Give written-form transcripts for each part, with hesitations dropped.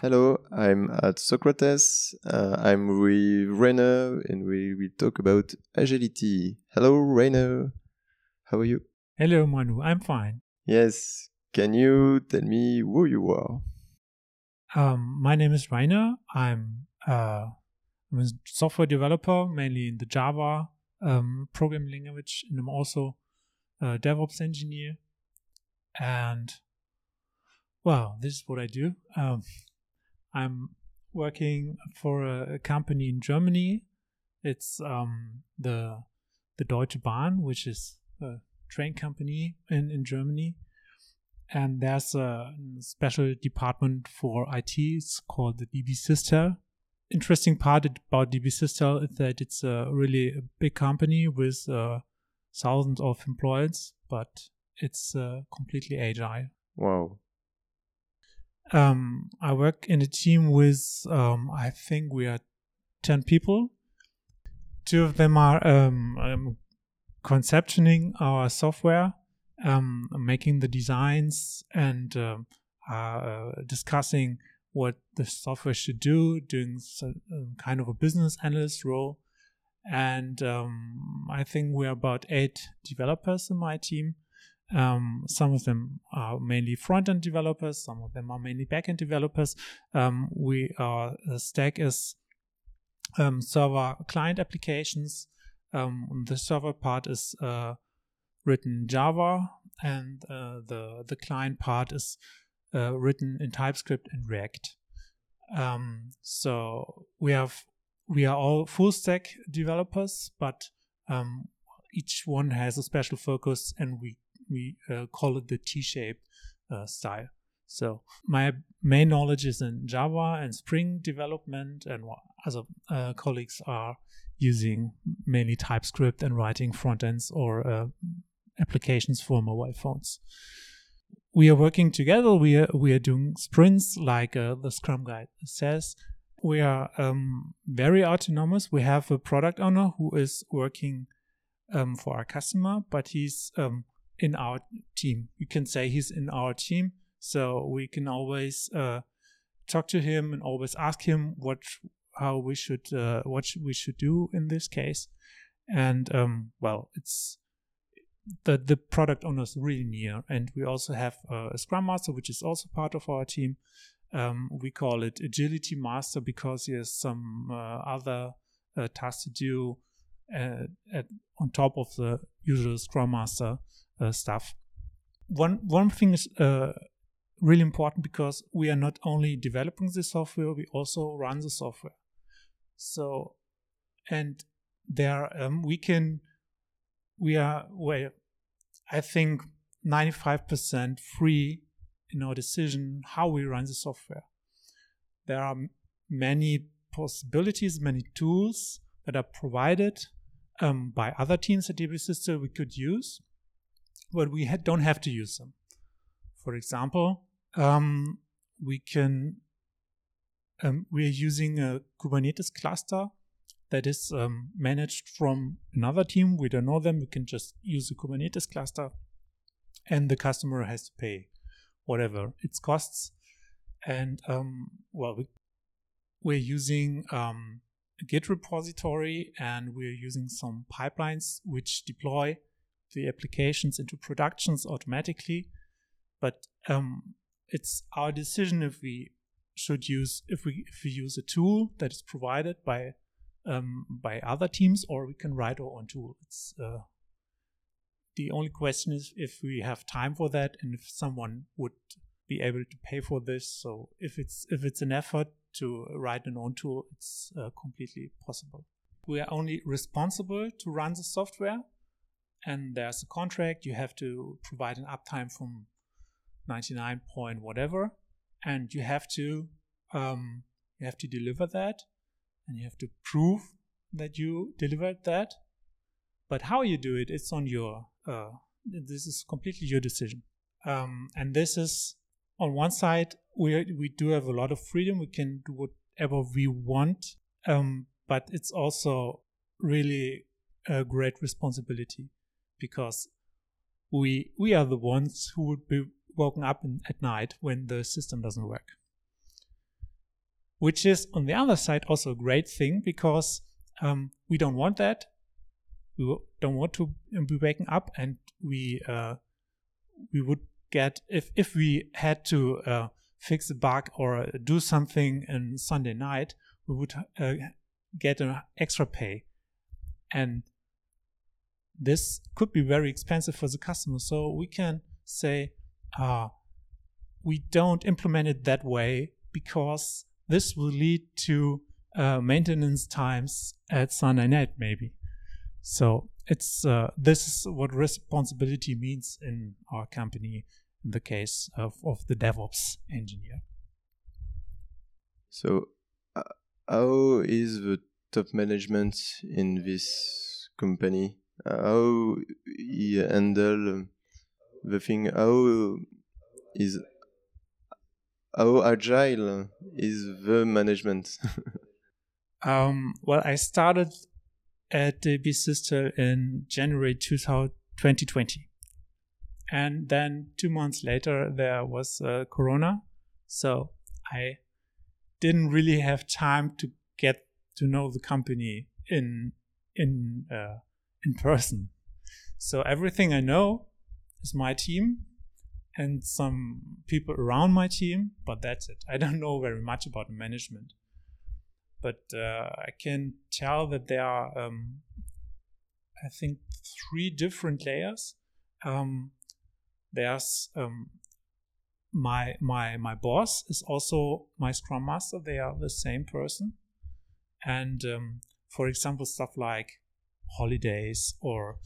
Hello, I'm at Socrates. I'm with Rainer and we will talk about agility. Hello, Rainer. How are you? Hello, Manu. I'm fine. Yes. Can you tell me who you are? My name is Rainer. I'm a software developer, mainly in the Java programming language, and I'm also a DevOps engineer. And well, this is what I do. I'm working for a company in Germany. It's the Deutsche Bahn, which is a train company in Germany. And there's a special department for IT. It's called the DB Systel. Interesting part about DB Systel is that it's a really big company with thousands of employees, but it's completely agile. Wow. I work in a team with, I think we are 10 people. 2 of them are conceptioning our software, making the designs and discussing what the software should do, doing some kind of a business analyst role. And I think we're about 8 developers in my team. Some of them are mainly front-end developers. Some of them are mainly back-end developers. The stack is server client applications. The server part is written in Java, and the client part is written in TypeScript and React. So we are all full stack developers, but each one has a special focus, and we call it the T-shaped style. So my main knowledge is in Java and Spring development, and other colleagues are using mainly TypeScript and writing front ends or applications for mobile phones. We are working together. We are doing sprints like the Scrum Guide says. We are very autonomous. We have a product owner who is working for our customer, but he's in our team. You can say he's in our team, so we can always talk to him and always ask him what we should do in this case. And it's the product owner is really near, and we also have a Scrum Master, which is also part of our team. We call it Agility Master because he has some other tasks to do on top of the usual Scrum Master stuff. One thing is really important because we are not only developing the software, we also run the software. So, and there I think 95% free in our decision how we run the software. There are many possibilities, many tools that are provided by other teams at DB Systel we could use, but we don't have to use them. For example, we are using a Kubernetes cluster that is managed from another team. We don't know them. We can just use a Kubernetes cluster, and the customer has to pay whatever its costs. And we're using a Git repository, and we're using some pipelines which deploy the applications into productions automatically. But it's our decision if we use a tool that is provided by other teams, or we can write our own tool. It's the only question is if we have time for that and if someone would be able to pay for this. So if it's an effort to write an own tool, it's completely possible. We are only responsible to run the software, and there's a contract. You have to provide an uptime from 99 point whatever, and you have to deliver that, and you have to prove that you delivered that. But how you do it, it's on your this is completely your decision. And this is, on one side, we do have a lot of freedom. We can do whatever we want, but it's also really a great responsibility, because we are the ones who would be woken up at night when the system doesn't work. which is on the other side also a great thing, because we don't want that. We don't want to be waking up, and we would get, if we had to fix a bug or do something on Sunday night, we would get an extra pay, and this could be very expensive for the customer. So we can say we don't implement it that way, because this will lead to maintenance times at Sunday night maybe. So it's this is what responsibility means in our company in the case of the DevOps engineer. So how is the top management in this company? How you handle the thing? How agile is the management? Well, I started at DB Systel in January 2020. And then 2 months later, there was Corona. So I didn't really have time to get to know the company in person. So everything I know is my team and some people around my team, but that's it. I don't know very much about management. But I can tell that there are, I think, 3 different layers. There's my boss is also my Scrum Master. They are the same person. And for example, stuff like holidays or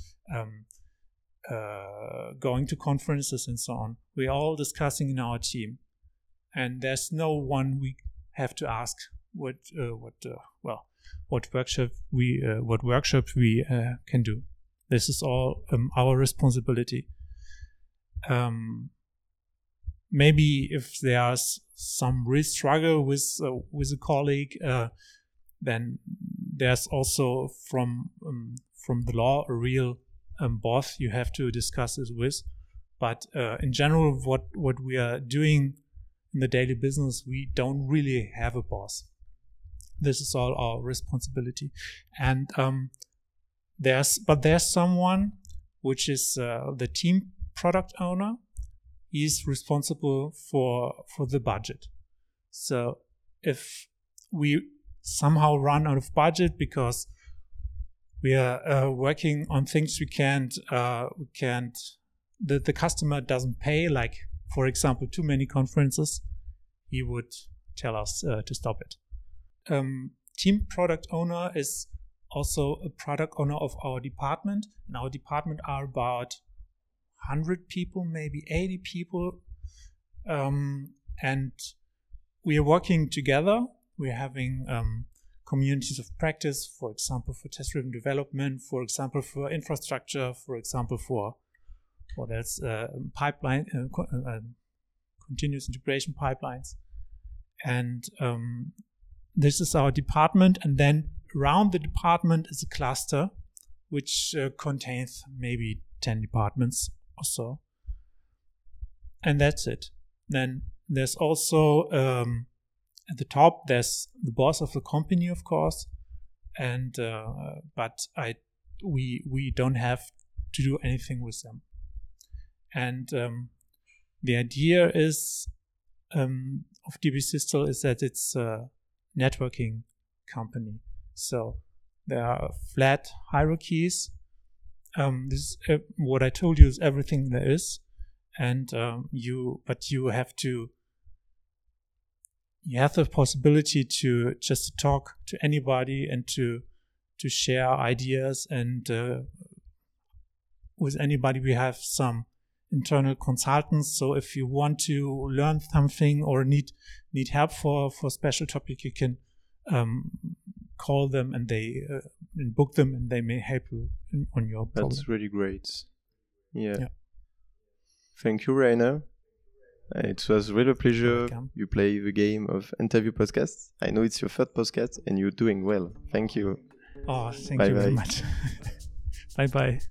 going to conferences and so on, we're all discussing in our team. And there's no one we have to ask what workshop we can do. This is all our responsibility. Maybe if there's some real struggle with a colleague, then there's also from the law a real boss you have to discuss this with. But in general, what we are doing in the daily business, we don't really have a boss. This is all our responsibility. And there's someone which is the team product owner. He's responsible for the budget. So if we somehow run out of budget because we are working on things we can't the customer doesn't pay, like for example too many conferences, he would tell us to stop it. Team product owner is also a product owner of our department. In our department are about 100 people, maybe 80 people, and we are working together. We're having communities of practice, for example, for test-driven development, for example, for infrastructure, for example, for what else? Pipeline, continuous integration pipelines. And this is our department. And then around the department is a cluster, which contains maybe 10 departments or so. And that's it. Then there's also at the top, there's the boss of the company, of course, and but we don't have to do anything with them. And the idea is of DB Systel is that it's a networking company. So there are flat hierarchies. This what I told you is everything there is, and you have the possibility to just talk to anybody and to share ideas, and with anybody. We have some internal consultants, so if you want to learn something or need help for a special topic, you can call them and they book them, and they may help you on your problem. That's really great. Yeah. Thank you, Rainer. It was really a pleasure. You play the game of interview podcasts. I know it's your third podcast and you're doing well. Thank you. Oh, thank you very much. Bye-bye.